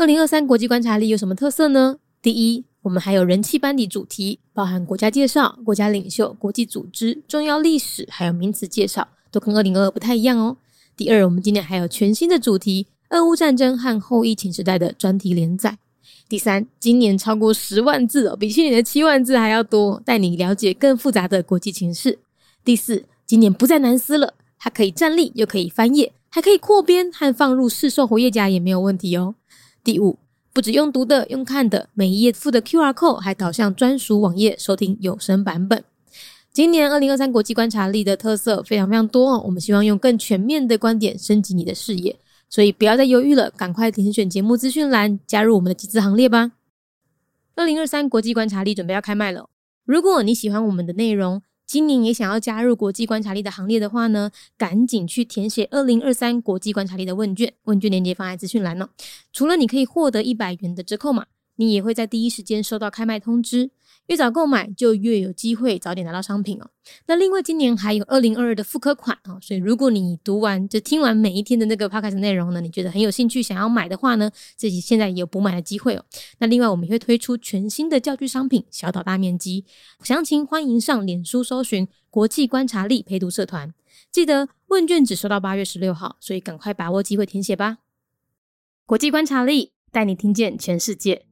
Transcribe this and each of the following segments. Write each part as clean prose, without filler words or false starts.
2023国际观察力有什么特色呢？第一，我们还有人气班底主题，包含国家介绍、国家领袖、国际组织、重要历史，还有名词介绍，都跟2022不太一样哦。第二，我们今年还有全新的主题，俄乌战争和后疫情时代的专题连载。第三，今年超过10万字哦，比去年的7万字还要多，带你了解更复杂的国际情势。第四，今年不再难撕了，它可以站立又可以翻页，还可以扩编和放入市售活页夹也没有问题哦。第五，不只用读的，用看的，每一页附的 QR code 还导向专属网页收听有声版本。今年2023国际观察力的特色非常非常多哦，我们希望用更全面的观点升级你的视野，所以不要再犹豫了，赶快点选节目资讯栏加入我们的集资行列吧。2023国际观察力准备要开卖了，如果你喜欢我们的内容，今年也想要加入国际观察力的行列的话呢，赶紧去填写2023国际观察力的问卷，问卷链接放在资讯栏哦。除了你可以获得100元的折扣码，你也会在第一时间收到开卖通知，越早购买就越有机会早点拿到商品哦。那另外今年还有2022的复刻款哦，所以如果你听完每一天的那个 podcast 内容呢，你觉得很有兴趣想要买的话呢，自己现在也有补买的机会哦。那另外我们也会推出全新的教具商品小岛大面积，详情欢迎上脸书搜寻国际观察力陪读社团，记得问卷只收到8月16号，所以赶快把握机会填写吧。国际观察力带你听见全世界。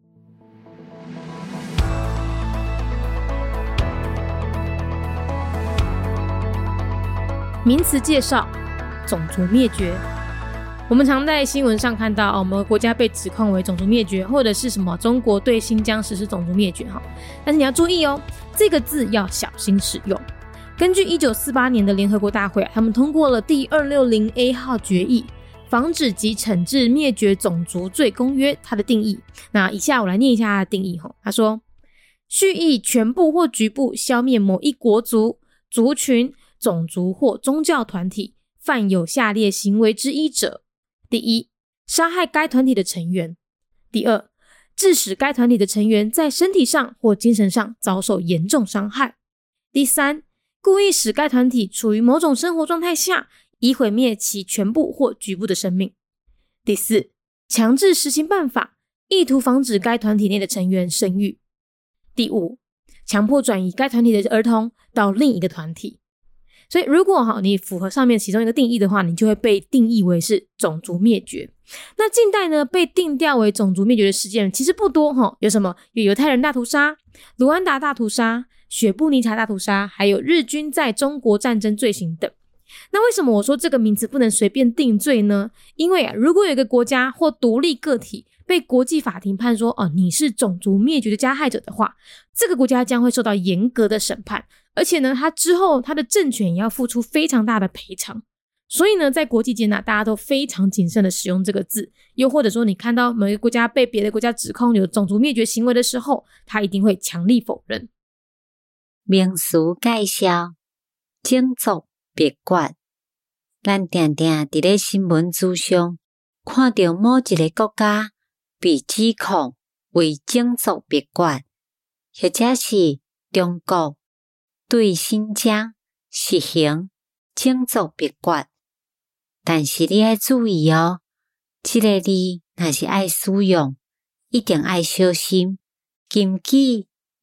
名词介绍：种族灭绝。我们常在新闻上看到我们国家被指控为种族灭绝，或者是什么中国对新疆实施种族灭绝，但是你要注意哦，这个字要小心使用。根据1948年的联合国大会，他们通过了第260A 号决议，防止及惩治灭绝种族罪公约，它的定义。那以下我来念一下它的定义。他说，蓄意全部或局部消灭某一国族、族群、种族或宗教团体，犯有下列行为之一者：第一，杀害该团体的成员；第二，致使该团体的成员在身体上或精神上遭受严重伤害；第三，故意使该团体处于某种生活状态下，以毁灭其全部或局部的生命；第四，强制实行办法，意图防止该团体内的成员生育；第五，强迫转移该团体的儿童到另一个团体。所以如果你符合上面其中一个定义的话，你就会被定义为是种族灭绝。那近代呢，被定调为种族灭绝的事件其实不多有什么？有犹太人大屠杀、卢安达大屠杀、雪布尼察大屠杀，还有日军在中国战争罪行等。那为什么我说这个名词不能随便定罪呢？因为如果有一个国家或独立个体被国际法庭判说你是种族灭绝的加害者的话，这个国家将会受到严格的审判，而且呢，他之后他的政权也要付出非常大的赔偿。所以呢，在国际间大家都非常谨慎的使用这个字，又或者说你看到某一个国家被别的国家指控有种族灭绝行为的时候，他一定会强力否认。 名词介绍：种族灭绝。咱常常伫咧新闻资上看到某一个国家被指控为种族灭绝，或者是中国对新疆实行种族灭绝。但是你要注意哦，这个字若是爱使用，一定要小心。根据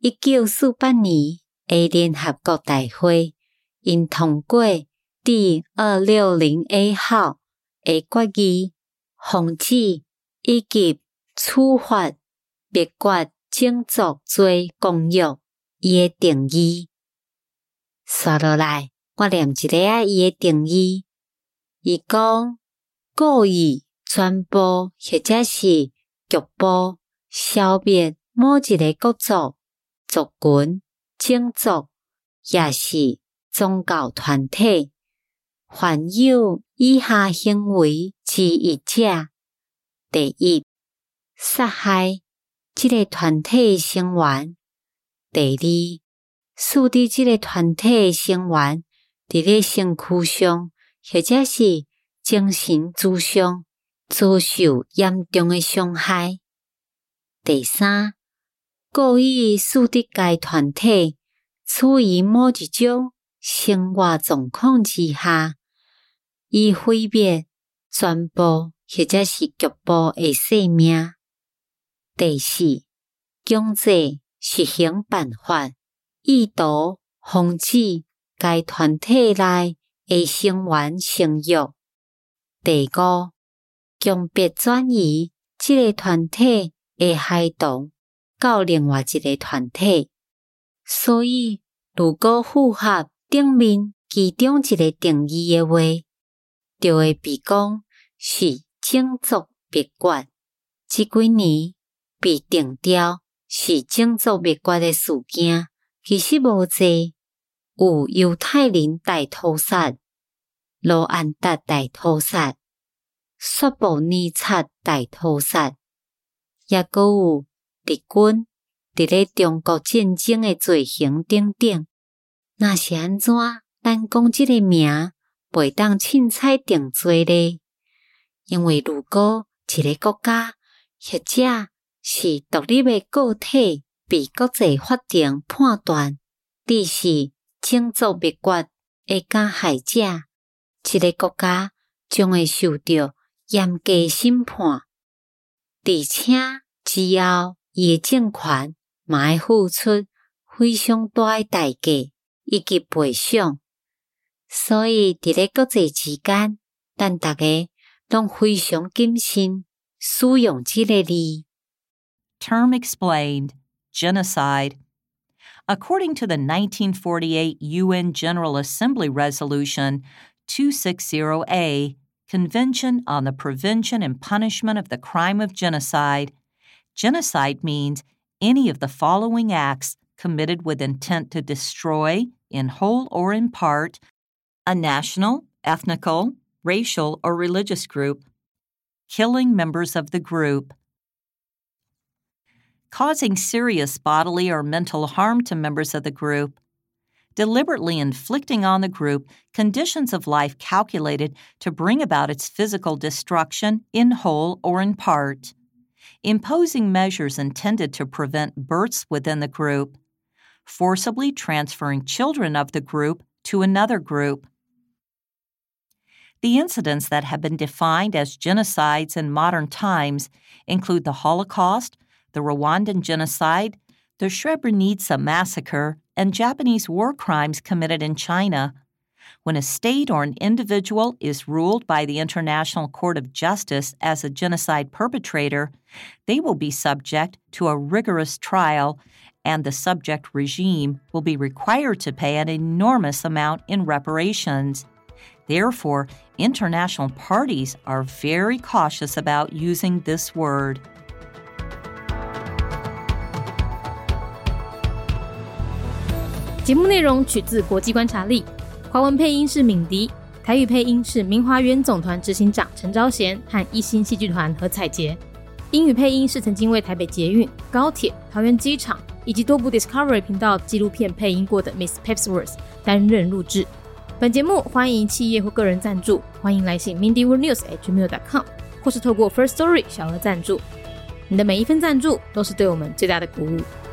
1948年的联合国大会，因通过第260A 号的决议，防止以及处罚灭绝种族罪公约伊的定义。刷落来，我念一下伊的定义。伊讲，故意传播或者是局部消灭某一个国族、族群、种族，也是宗教团体，犯有以下行为之一者：第一，杀害这个团体成员；第二，使得这个团体成员伫咧身躯上或者是精神之上遭受严重的伤害；第三，故意使得该团体处于某一种生活状况之下，以毁灭全部或者是局部的生命； 第四，強制實行辦法，意圖防止該團體內的成員生育。第五，強迫轉移這個團體的孩童到另外一個團體。所以，如果符合頂面其中一個定義的話，就會被講是種族滅絕。這幾年被定調是種族滅絕的事件，其實無濟，有猶太人大屠殺、羅安達大屠殺、索布尼察大屠殺，也閣有日軍佇咧中國戰爭的罪行等等。若是安怎，咱講這個名袂當凊彩定罪咧？因為如果一個國家或者是獨立的個體被國際法庭判斷你是種族滅絕的加害者，這個國家將會受到嚴格審判，而且之後伊的政權嘛會付出非常大的代價以及賠償。所以佇咧國際之間，咱大家攏非常謹慎使用這個字。 Term explained, genocide. According to the 1948 UN General Assembly Resolution 260A, Convention on the Prevention and Punishment of the Crime of Genocide, genocide means any of the following acts committed with intent to destroy, in whole or in part, a national, ethnical, racial, or religious group, killing members of the group, causing serious bodily or mental harm to members of the group, deliberately inflicting on the group conditions of life calculated to bring about its physical destruction in whole or in part, imposing measures intended to prevent births within the group, forcibly transferring children of the group to another group. The incidents that have been defined as genocides in modern times include the Holocaust, the Rwandan genocide, the Srebrenica massacre, and Japanese war crimes committed in China. When a state or an individual is ruled by the International Court of Justice as a genocide perpetrator, they will be subject to a rigorous trial, and the subject regime will be required to pay an enormous amount in reparations. Therefore, international parties are very cautious about using this word. 节目内容取自国际观察力，华文配音是敏迪，台语配音是明华园总团执行长陈昭贤和一心戏剧团何彩杰，英语配音是曾经为台北捷运、高铁、桃园机场以及多部 Discovery 频道纪录片配音过的 Miss Pepsworth 担任录制。本节目欢迎企业或个人赞助，欢迎来信 mindyworldnews@gmail.com 或是透过 First Story 小额赞助。你的每一份赞助都是对我们最大的鼓舞。